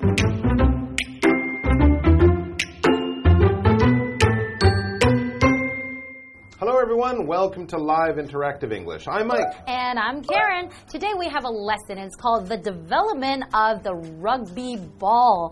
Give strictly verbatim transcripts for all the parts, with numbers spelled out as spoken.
Hello everyone, welcome to Live Interactive English. I'm Mike. And I'm Karen. Today we have a lesson. It's called The Development of the Rugby Ball.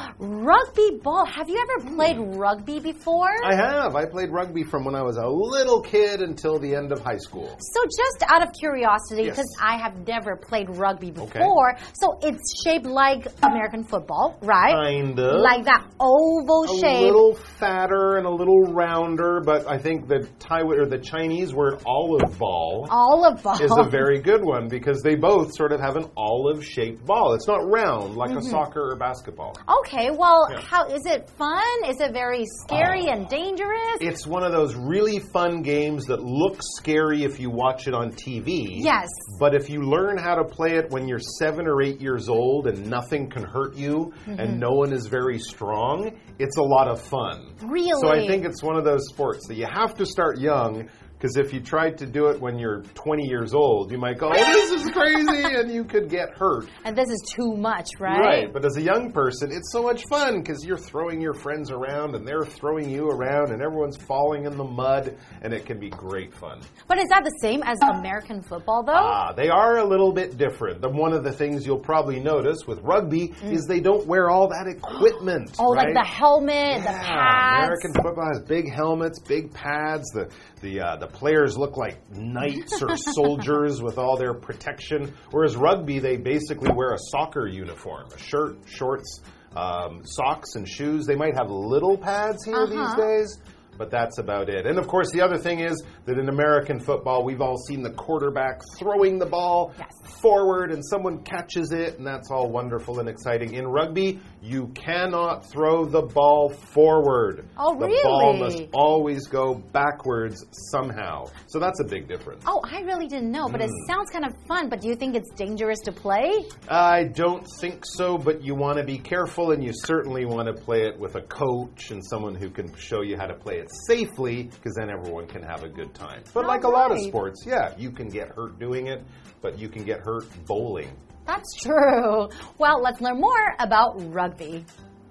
Rugby ball. Have you ever played rugby before? I have. I played rugby from when I was a little kid until the end of high school. So just out of curiosity, because yes. I have never played rugby before, okay. So it's shaped like American football, right? Kind of. Like that oval a shape. A little fatter and a little rounder, but I think the Thai or the Chinese word olive ball, olive ball is a very good one because they both sort of have an olive-shaped ball. It's not round like mm-hmm. a soccer or basketball. Okay, well, yeah. how is it fun? Is it very scary oh. and dangerous? It's one of those really fun games that looks scary if you watch it on T V. Yes. But if you learn how to play it when you're seven or eight years old and nothing can hurt you mm-hmm. and no one is very strong, it's a lot of fun. Really? So I think it's one of those sports that you have to start young. Because if you tried to do it when you're twenty years old, you might go, oh, this is crazy, and you could get hurt. And this is too much, right? Right, but as a young person, it's so much fun because you're throwing your friends around, and they're throwing you around, and everyone's falling in the mud, and it can be great fun. But is that the same as American football, though? Ah, they are a little bit different. The, one of the things you'll probably notice with rugby mm. is they don't wear all that equipment. Oh, right? like the helmet, yeah, the pads. American football has big helmets, big pads, the, the, uh, the players look like knights or soldiers with all their protection, whereas rugby, they basically wear a soccer uniform, a shirt, shorts, um, socks, and shoes. They might have little pads here uh-huh. these days, but that's about it. And of course, the other thing is that in American football, we've all seen the quarterback throwing the ball yes. forward and someone catches it, and that's all wonderful and exciting. In rugby, you cannot throw the ball forward. Oh, the really? The ball must always go backwards somehow. So that's a big difference. Oh, I really didn't know, but mm. it sounds kind of fun. But do you think it's dangerous to play? I don't think so, but you want to be careful, and you certainly want to play it with a coach and someone who can show you how to play it safely, because then everyone can have a good time. But All like right. a lot of sports, yeah, you can get hurt doing it, but you can get hurt bowling. That's true. Well, let's learn more about rugby.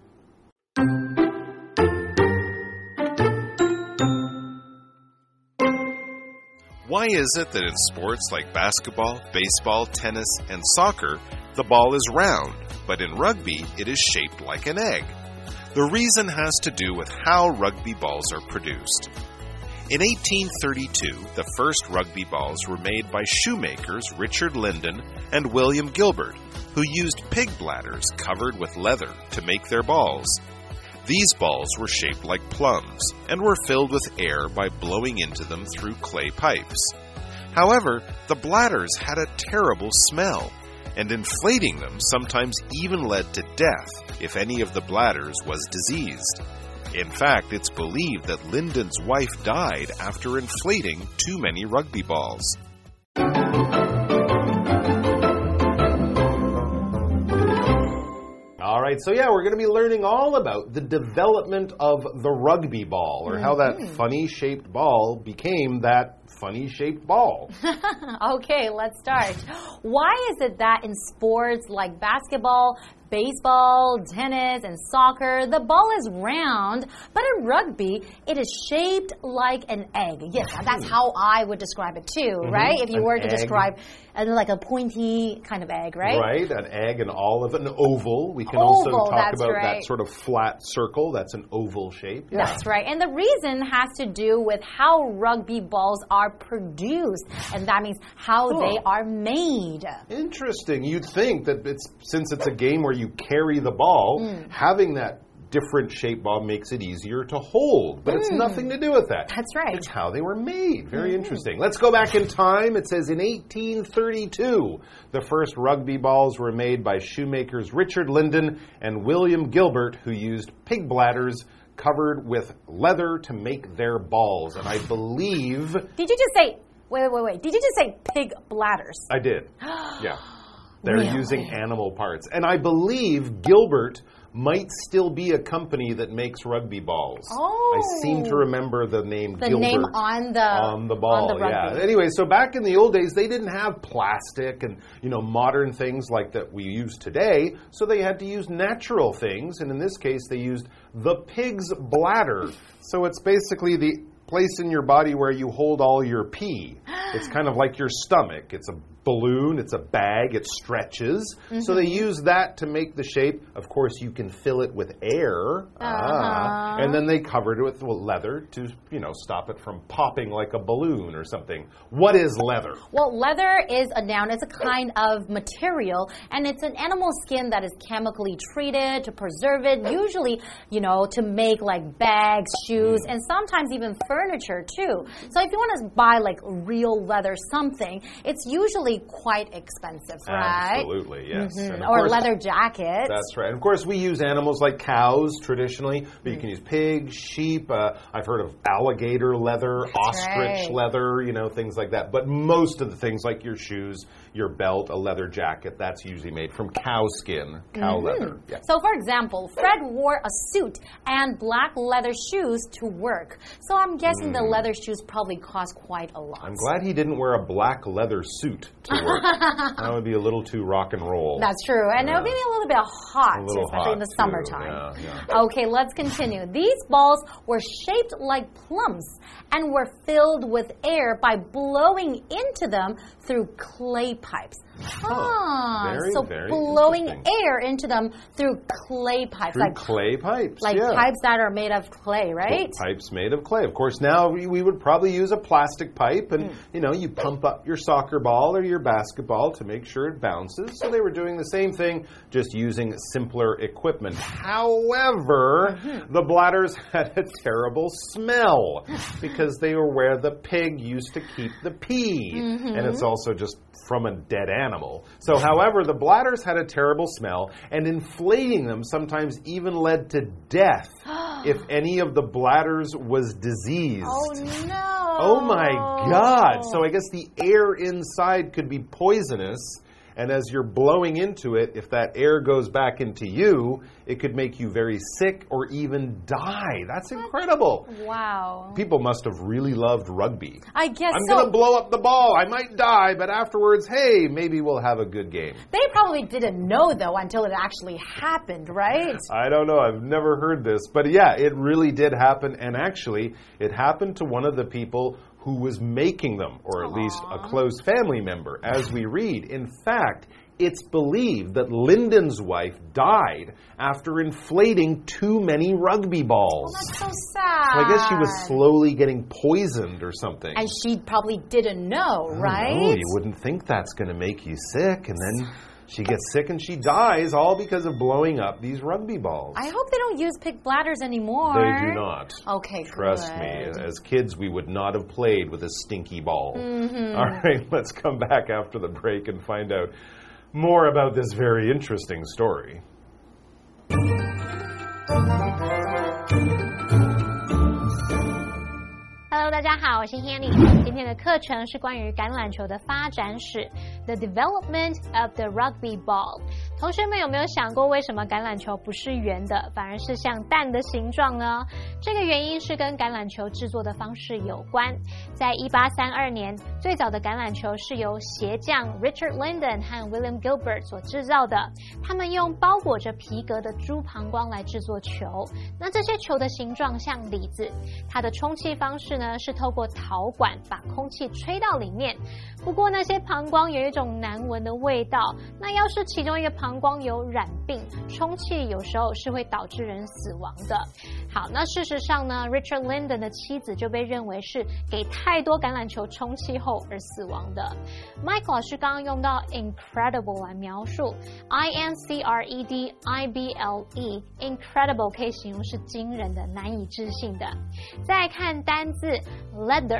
Why is it that in sports like basketball, baseball, tennis, and soccer, the ball is round, but in rugby, it is shaped like an egg? The reason has to do with how rugby balls are produced. In eighteen thirty-two, the first rugby balls were made by shoemakers Richard Linden and William Gilbert, who used pig bladders covered with leather to make their balls. These balls were shaped like plums and were filled with air by blowing into them through clay pipes. However, the bladders had a terrible smell, and inflating them sometimes even led to death if any of the bladders was diseased. In fact, it's believed that Linden's wife died after inflating too many rugby balls. All right, so yeah, we're going to be learning all about the development of the rugby ball, or mm-hmm. how that funny-shaped ball became that funny-shaped ball. Okay, let's start. Why is it that in sports like basketball, baseball, tennis, and soccer, the ball is round, but in rugby, it is shaped like an egg? Yes, that's how I would describe it too, mm-hmm. right? If you an were to egg. describe uh, like a pointy kind of egg, right? Right, an egg, an olive, an oval. We can Oval, also talk about right. that sort of flat circle. That's an oval shape. Yeah. That's right. And the reason has to do with how rugby balls are produced, and that means how oh. they are made. Interesting. You'd think that it's since it's a game where you carry the ball, mm. having that different shaped ball makes it easier to hold. But mm. it's nothing to do with that. That's right. It's how they were made. Very mm. interesting. Let's go back in time. It says in eighteen thirty-two, the first rugby balls were made by shoemakers Richard Linden and William Gilbert, who used pig bladders covered with leather to make their balls. And I believe... Did you just say... Wait, wait, wait. Did you just say pig bladders? I did. Yeah. They're really? using animal parts. And I believe Gilbert might still be a company that makes rugby balls. Oh. I seem to remember the name the Gilbert. name on the, on the ball, on the rugby. yeah. Anyway, so back in the old days, they didn't have plastic and, you know, modern things like that we use today, so they had to use natural things, and in this case, they used the pig's bladder. So it's basically the place in your body where you hold all your pee. It's kind of like your stomach. It's a balloon, it's a bag, it stretches. Mm-hmm. So they use that to make the shape. Of course, you can fill it with air. Uh-huh. Ah, and then they covered it with leather to, you know, stop it from popping like a balloon or something. What is leather? Well, leather is a noun. It's a kind of material, and it's an animal skin that is chemically treated to preserve it, usually, you know, to make like bags, shoes, mm. and sometimes even furniture too. So if you want to buy like real leather something, it's usually quite expensive, right? Absolutely, yes. Mm-hmm. Or course, leather jackets. That's right. And of course, we use animals like cows traditionally, but mm. you can use pigs, sheep. Uh, I've heard of alligator leather, that's ostrich right. leather, you know, things like that. But most of the things like your shoes, your belt, a leather jacket, that's usually made from cow skin, cow mm-hmm. leather. Yeah. So, for example, Fred wore a suit and black leather shoes to work. So I'm guessing mm. the leather shoes probably cost quite a lot. I'm glad he didn't wear a black leather suit to work. That would be a little too rock and roll. That's true. And yeah. it would be a little bit hot, a little especially hot in the too. summertime. Yeah, yeah. Okay, let's continue. These balls were shaped like plums and were filled with air by blowing into them through clay pipes. Ah, very, so very blowing air into them through clay pipes. Through like clay pipes, Like yeah. pipes that are made of clay, right? Pipes made of clay. Of course, now we, we would probably use a plastic pipe, and, mm. you know, you pump up your soccer ball or your basketball to make sure it bounces. So they were doing the same thing, just using simpler equipment. However, mm-hmm. the bladders had a terrible smell because they were where the pig used to keep the pee. Mm-hmm. And it's also just from a dead animal. So, however, the bladders had a terrible smell, and inflating them sometimes even led to death if any of the bladders was diseased. Oh, no. Oh, my God. So I guess the air inside could be poisonous. And as you're blowing into it, if that air goes back into you, it could make you very sick or even die. That's incredible. Wow. People must have really loved rugby. I guess I'm so. going to blow up the ball. I might die, but afterwards, hey, maybe we'll have a good game. They probably didn't know, though, until it actually happened, right? I don't know. I've never heard this. But yeah, it really did happen. And actually, it happened to one of the people who was making them, or at Aww. least a close family member, as we read. In fact, it's believed that Lyndon's wife died after inflating too many rugby balls. Oh, that's so sad. So I guess she was slowly getting poisoned or something. And she probably didn't know, right? No, you wouldn't think that's going to make you sick, and then she gets sick and she dies, all because of blowing up these rugby balls. I hope they don't use pig bladders anymore. They do not. Okay, Trust good. me. As kids, we would not have played with a stinky ball. Mm-hmm. All right, let's come back after the break and find out more about this very interesting story. Hello， 大家好，我是 Hanny。今天的課程是關於橄欖球的發展史 ，The development of the rugby ball。同學們有沒有想過，為什麼橄欖球不是圓的，反而是像蛋的形狀呢？這個原因是跟橄欖球製作的方式有關。在一八三二年，最早的橄欖球是由鞋匠 Richard Linden 和 William Gilbert 所製造的。他們用包裹着皮革的豬膀胱來製作球。那這些球的形狀像李子，它的充氣方式呢是透過陶管把空氣吹到裡面。不過那些膀胱有一種難聞的味道，那要是其中一個膀胱有染病，充氣有時候是會導致人死亡的。好，那事實上呢 Richard Linden 的妻子就被認為是給太多橄欖球充氣後而死亡的。Mike 老師剛剛用到 incredible 來描述 I N C R E D I B L E incredible 可以形容是驚人的、難以置信的。再來看單字 leather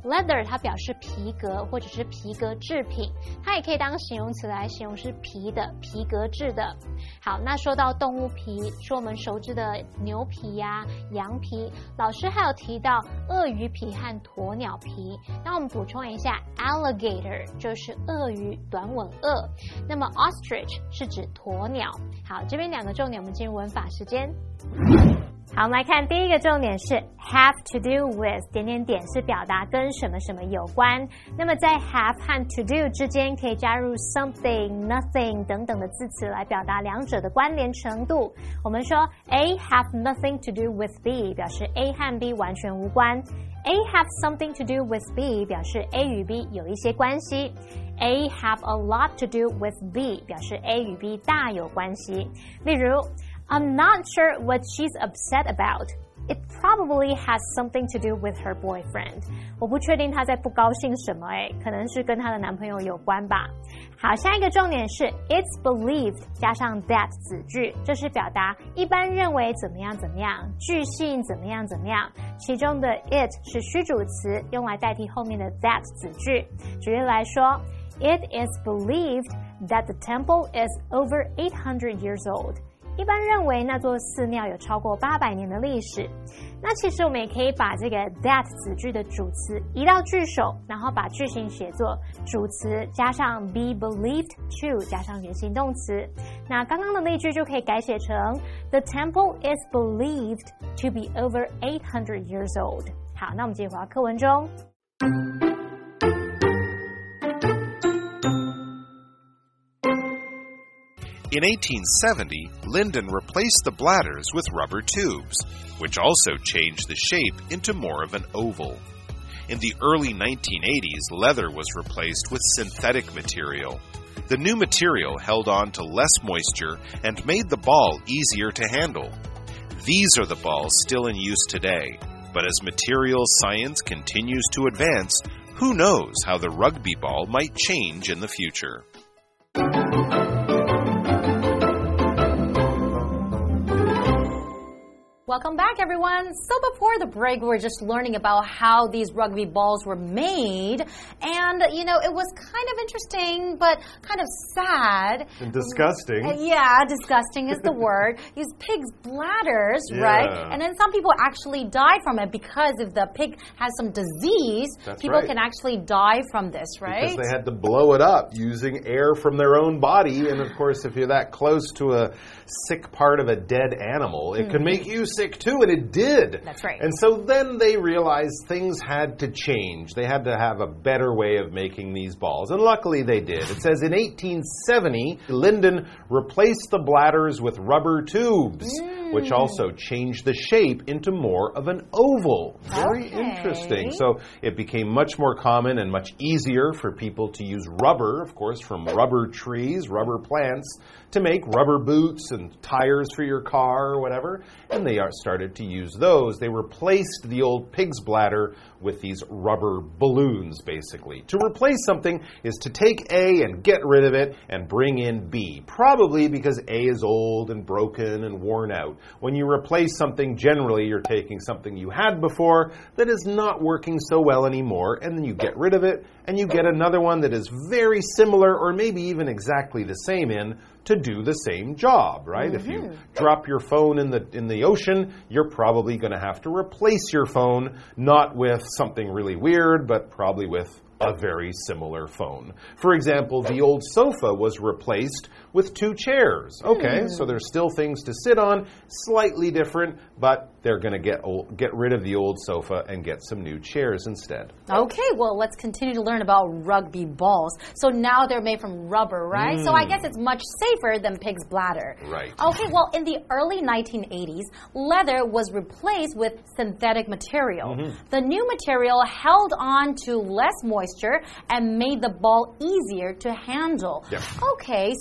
leather 它表示皮革或者是皮革制品，它也可以当形容詞來形容是皮的、皮革制的。好，那說到動物皮，說我們熟知的牛皮呀、啊、羊皮，老師還有提到鱷魚皮和鴕鳥皮。那我們補充一下 ，alligator 就是鱷魚、短吻鱷，那麼 ostrich 是指鴕鳥。好，這邊兩個重點，我們進入文法時間。好，我們來看第一個重點是 have to do with 點點點是表達跟什麼什麼有關。那麼在 have 和 to do 之間可以加入 something, nothing 等等的字詞來表達兩者的關聯程度。我們說 A have nothing to do with B 表示 A 和 B 完全無關。A have something to do with B 表示 A 與 B 有一些關係。A have a lot to do with B 表示 A 與 B 大有關係。例如I'm not sure what she's upset about. It probably has something to do with her boyfriend. 我不確定她在不高興什麼誒，可能是跟她的男朋友有關吧。好，下一個重點是 It's believed 加上 that 子句，這是表達一般認為怎麼樣怎麼樣，據信怎麼樣怎麼樣。其中的 it 是虛主詞，用來代替後面的 that 子句。舉例來說 It is believed that the temple is over eight hundred years old.一般認為那座寺廟有超過八百年的歷史。那其實我們也可以把這個 that 子句的主詞移到句首，然後把句型寫作主詞加上 be believed to 加上原形動詞。那剛剛的例句就可以改寫成 The temple is believed to be over eight hundred years old。好，那我們繼續回到課文中。 In eighteen seventy, Linden replaced the bladders with rubber tubes, which also changed the shape into more of an oval. In the early nineteen eighties, leather was replaced with synthetic material. The new material held on to less moisture and made the ball easier to handle. These are the balls still in use today, but as materials science continues to advance, who knows how the rugby ball might change in the future. Welcome back, everyone. So before the break, we were just learning about how these rugby balls were made. And, you know, it was kind of interesting, but kind of sad. And disgusting. Uh, yeah, disgusting is the word. Use pigs' bladders, yeah. right? And then some people actually die from it because if the pig has some disease, That's people right. can actually die from this, right? Because they had to blow it up using air from their own body. And, of course, if you're that close to a sick part of a dead animal, it mm-hmm. can make you sick too, and it did. That's right. And so then they realized things had to change. They had to have a better way of making these balls, and luckily they did. It says in eighteen seventy, Linden replaced the bladders with rubber tubes, mm. which also changed the shape into more of an oval. Very okay. interesting. So it became much more common and much easier for people to use rubber, of course, from rubber trees, rubber plants, to make rubber boots and tires for your car or whatever. And they are started to use those. They replaced the old pig's bladder with these rubber balloons, basically. To replace something is to take A and get rid of it and bring in B, probably because A is old and broken and worn out. When you replace something, generally you're taking something you had before that is not working so well anymore, and then you get rid of it, and you get another one that is very similar or maybe even exactly the same in to do the same job, right? Mm-hmm. If you drop your phone in the in the ocean, you're probably going to have to replace your phone, not with something really weird, but probably with a very similar phone. For example, the old sofa was replaced with two chairs. Okay, mm. so there's still things to sit on, slightly different, but they're going to get old, get rid of the old sofa and get some new chairs instead. Okay, well, let's continue to learn about rugby balls. So now they're made from rubber, right? Mm. So I guess it's much safer than pig's bladder. Right. Okay, well, in the early nineteen eighties, leather was replaced with synthetic material. Mm-hmm. The new material held on to less moisture and made the ball easier to handle. Yep. Okay, so they use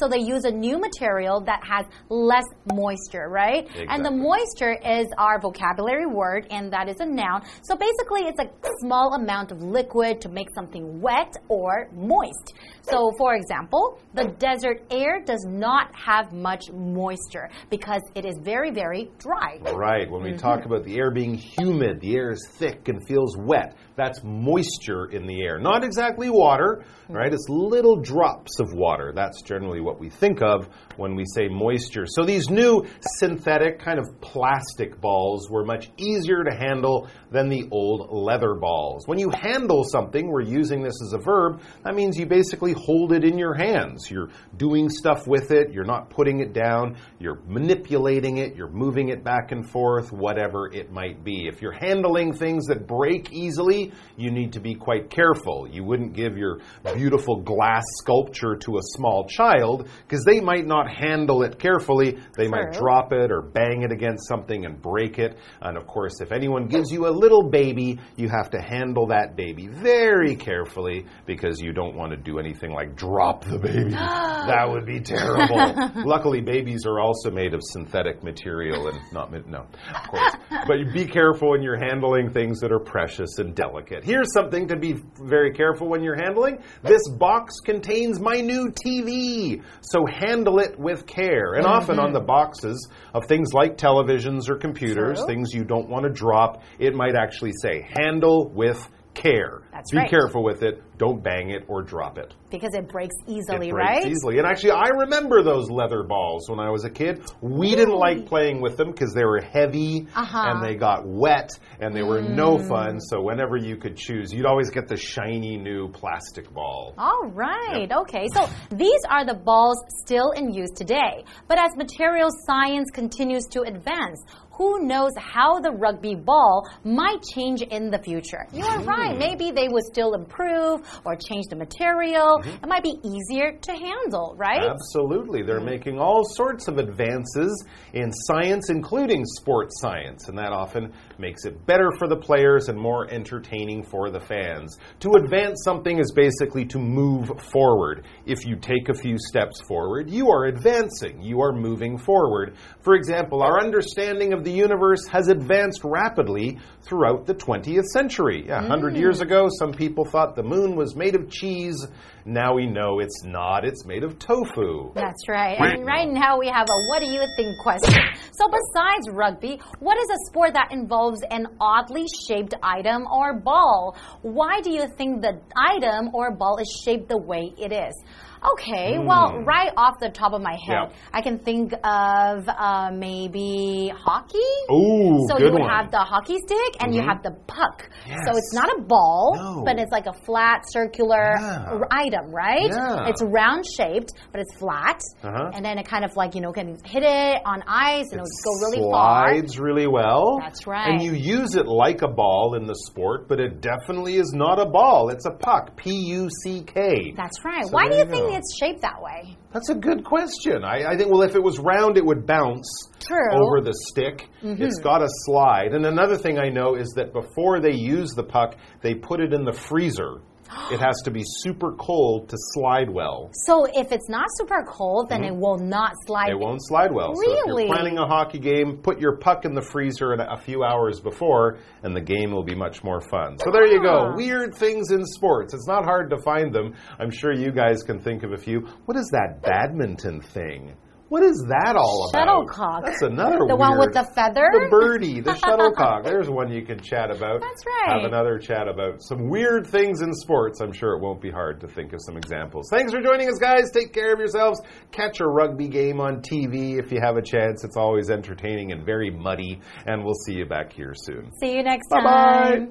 a new material that has less moisture, right? Exactly. And the moisture is our vocabulary word, and that is a noun. So basically, it's a small amount of liquid to make something wet or moist. So, for example, the desert air does not have much moisture because it is very, very dry. Right. When we mm-hmm. talk about the air being humid, the air is thick and feels wet. That's moisture in the air. Not exactly water, right? It's little drops of water. That's generally what we think of when we say moisture. So these new synthetic kind of plastic balls were much easier to handle than the old leather balls. When you handle something, we're using this as a verb, that means you basically hold it in your hands. You're doing stuff with it. You're not putting it down. You're manipulating it. You're moving it back and forth, whatever it might be. If you're handling things that break easily, you need to be quite careful. You wouldn't give your beautiful glass sculpture to a small child because they might not handle it carefully. They might drop it or bang it against something and break it. And of course, if anyone gives you a little baby, you have to handle that baby very carefully because you don't want to do anything like drop the baby. That would be terrible. Luckily, babies are also made of synthetic material and not, no, of course. But you be careful when you're handling things that are precious and delicate. Here's something to be very careful when you're handling. This box contains my new T V, so handle it with care. And mm-hmm. often on the boxes of things like televisions or computers, True. Things you don't want to drop, it might actually say, handle with care. That's Be right. careful with it. Don't bang it or drop it. Because it breaks easily, it breaks right? easily. And actually, I remember those leather balls when I was a kid. We really? didn't like playing with them because they were heavy uh-huh. and they got wet and they were mm. no fun. So whenever you could choose, you'd always get the shiny new plastic ball. All right. Yep. Okay. So these are the balls still in use today. But as material science continues to advance, who knows how the rugby ball might change in the future? You are right. Maybe they would still improve or change the material. Mm-hmm. It might be easier to handle, right? Absolutely. They're mm-hmm. making all sorts of advances in science, including sports science, and that often makes it better for the players and more entertaining for the fans. To advance something is basically to move forward. If you take a few steps forward, you are advancing. You are moving forward. For example, our understanding of the universe has advanced rapidly throughout the twentieth century. Yeah, one hundred mm. years ago, some people thought the moon was made of cheese. Now we know it's not. It's made of tofu. That's right. And right now we have a what do you think question. So besides rugby, what is a sport that involves an oddly shaped item or ball? Why do you think the item or ball is shaped the way it is? Okay, mm. well, right off the top of my head, yeah. I can think of uh, maybe hockey. Ooh, so good you would one. have the hockey stick and mm-hmm. you have the puck. Yes. So it's not a ball, no. but it's like a flat circular yeah. item, right? Yeah. It's round shaped, but it's flat. Uh-huh. And then it kind of like, you know, can hit it on ice and it it'll go really far. It slides really well. That's right. And you use it like a ball in the sport, but it definitely is not a ball. It's a puck. P U C K. That's right. So Why do you you think go. it's shaped that way? That's a good question. I, I think, well, if it was round, it would bounce True. over the stick. Mm-hmm. It's got a slide. And another thing I know is that before they use the puck, they put it in the freezer. It has to be super cold to slide well. So if it's not super cold, then mm-hmm. it will not slide. It won't slide well. Really? So if you're planning a hockey game, put your puck in the freezer a few hours before, and the game will be much more fun. So there you go. Weird things in sports. It's not hard to find them. I'm sure you guys can think of a few. What is that badminton thing? What is that all about? Shuttlecock. That's another The weird, one with the feather? The birdie, the shuttlecock. There's one you can chat about. That's right. Have another chat about some weird things in sports. I'm sure it won't be hard to think of some examples. Thanks for joining us, guys. Take care of yourselves. Catch a rugby game on T V if you have a chance. It's always entertaining and very muddy. And we'll see you back here soon. See you next time.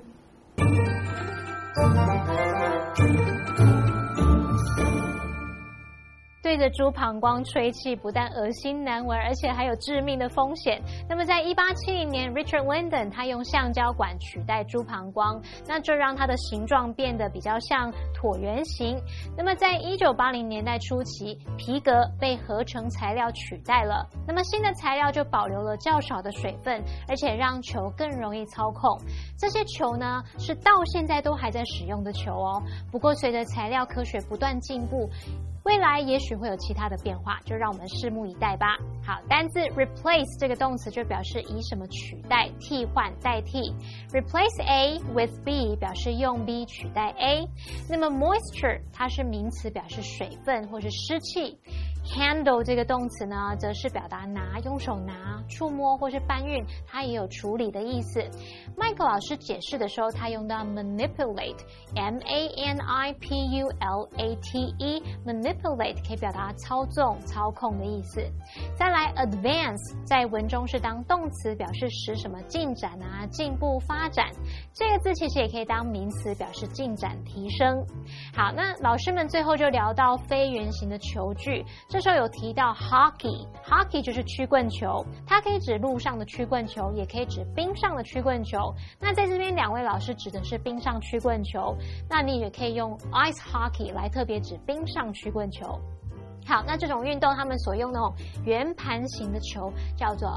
Bye-bye. 对着猪膀胱吹气，不但噁心难闻，而且还有致命的风险。那么，在一八七零年 ，Richard Linden 他用橡胶管取代猪膀胱，那这讓它的形狀變得比較像橢圓形。那麼，在一九八零年代初期，皮革被合成材料取代了。那麼，新的材料就保留了較少的水分，而且讓球更容易操控。這些球呢，是到現在都還在使用的球哦。不過，隨着材料科學不斷進步， 未來也許會有其他的變化，就讓我們拭目以待吧。好，單字 replace 這個動詞就表示以什麼取代、替換、代替。Replace A with B 表示用 B 取代 A。那麼 moisture 它是名詞，表示水分或是濕氣。Handle 這個動詞呢，則是表達拿、用手拿、觸摸或是搬運，它也有處理的意思。麥克老師解釋的時候，他用到 manipulate，M A N I P U L A T E，manipulate 可以表達操縱、操控的意思。再來 advance 在文中是當動詞，表示使什麼進展啊、進步、發展。這個字其實也可以當名詞，表示進展、提升。好，那老師們最後就聊到非圓形的球具。這時候有提到 hockey，hockey 就是曲棍球，它可以指陸上的曲棍球，也可以指冰上的曲棍球。那在這邊兩位老師指的是冰上曲棍球，那你也可以用 ice hockey 來特別指冰上曲棍球。好，那這種運動他們所用的那種圓盤形的球叫做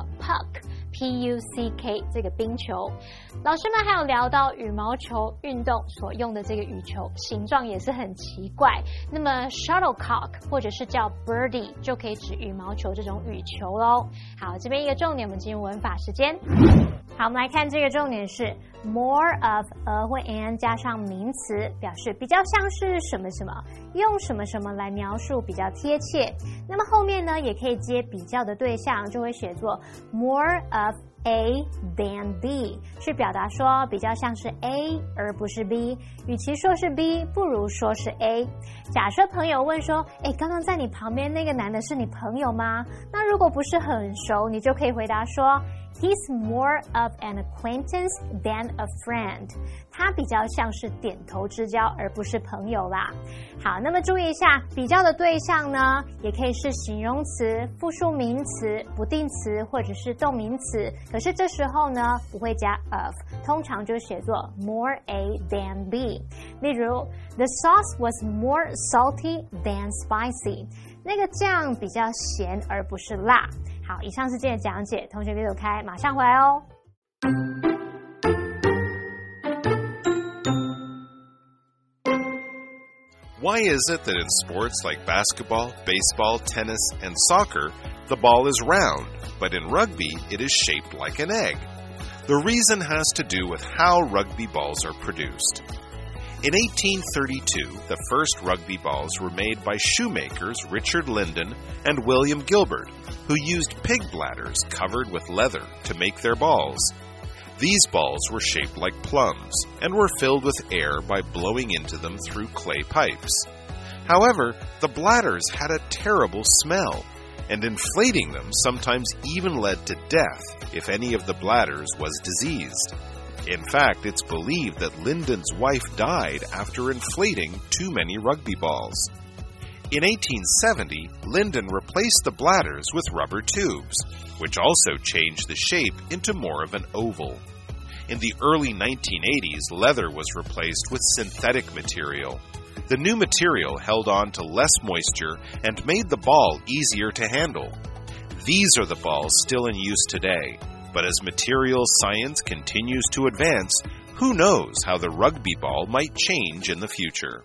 puck，P U C K 這個冰球。老師們還有聊到羽毛球運動所用的這個羽球形狀也是很奇怪，那麼 shuttlecock 或者是叫 birdie 就可以指羽毛球這種羽球咯。好，這邊一個重點，我們進入文法時間。好，我們來看這個重點是 more of a 或 an 加上名詞，表示比较像是什麼什麼，用什麼什麼來描述比较貼切。那麼後面呢，也可以接比較的对象，就會寫作 more of A than B， 是表達說比較像是 A 而不是 B， 與其說是 B， 不如說是 A。假設朋友問說，誒，剛剛在你旁邊那個男的是你朋友嗎？那如果不是很熟，你就可以回答說He's more of an acquaintance than a friend. 他比較像是點頭之交，而不是朋友啦。好，那麼注意一下，比較的對象呢，也可以是形容詞、複數名詞、不定詞或者是動名詞。可是這時候呢，不會加 of， 通常就寫作 more A than B。例如 ，The sauce was more salty than spicy. 那個醬比較鹹而不是辣。好，以上是今天的講解，同學別走開，馬上回來哦。 Why is it that in sports like basketball, baseball, tennis, and soccer, the ball is round, but in rugby it is shaped like an egg? The reason has to do with how rugby balls are produced. In eighteen thirty-two, the first rugby balls were made by shoemakers Richard Linden and William Gilbert, who used pig bladders covered with leather to make their balls. These balls were shaped like plums and were filled with air by blowing into them through clay pipes. However, the bladders had a terrible smell, and inflating them sometimes even led to death if any of the bladders was diseased. In fact, it's believed that Linden's wife died after inflating too many rugby balls. In eighteen seventy, Linden replaced the bladders with rubber tubes, which also changed the shape into more of an oval. In the early nineteen eighties, leather was replaced with synthetic material. The new material held on to less moisture and made the ball easier to handle. These are the balls still in use today. But as materials science continues to advance, who knows how the rugby ball might change in the future.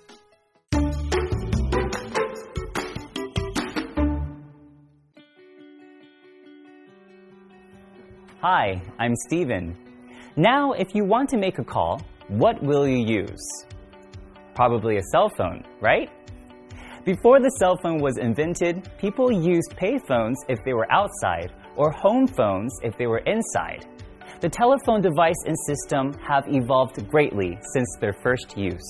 Hi, I'm Steven. Now, if you want to make a call, what will you use? Probably a cell phone, right? Before the cell phone was invented, people used payphones if they were outside, or home phones if they were inside. The telephone device and system have evolved greatly since their first use.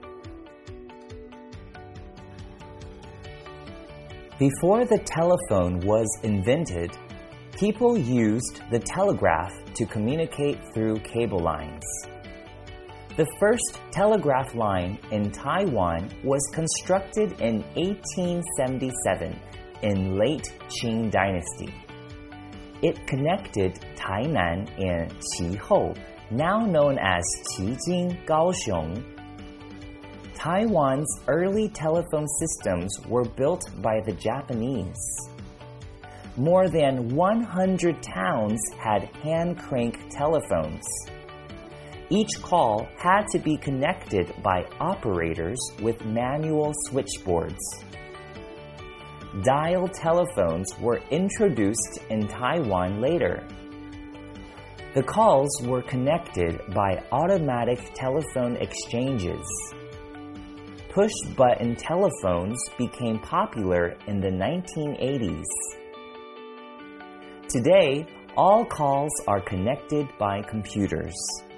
Before the telephone was invented, people used the telegraph to communicate through cable lines. The first telegraph line in Taiwan was constructed in eighteen seventy-seven in late Qing Dynasty. It connected Tainan and Qihou, now known as Qijing, Kaohsiung. Taiwan's early telephone systems were built by the Japanese. More than one hundred towns had hand-crank telephones. Each call had to be connected by operators with manual switchboards. dial telephones were introduced in Taiwan later. The calls were connected by automatic telephone exchanges. Push-button telephones became popular in the nineteen eighties. Today, all calls are connected by computers.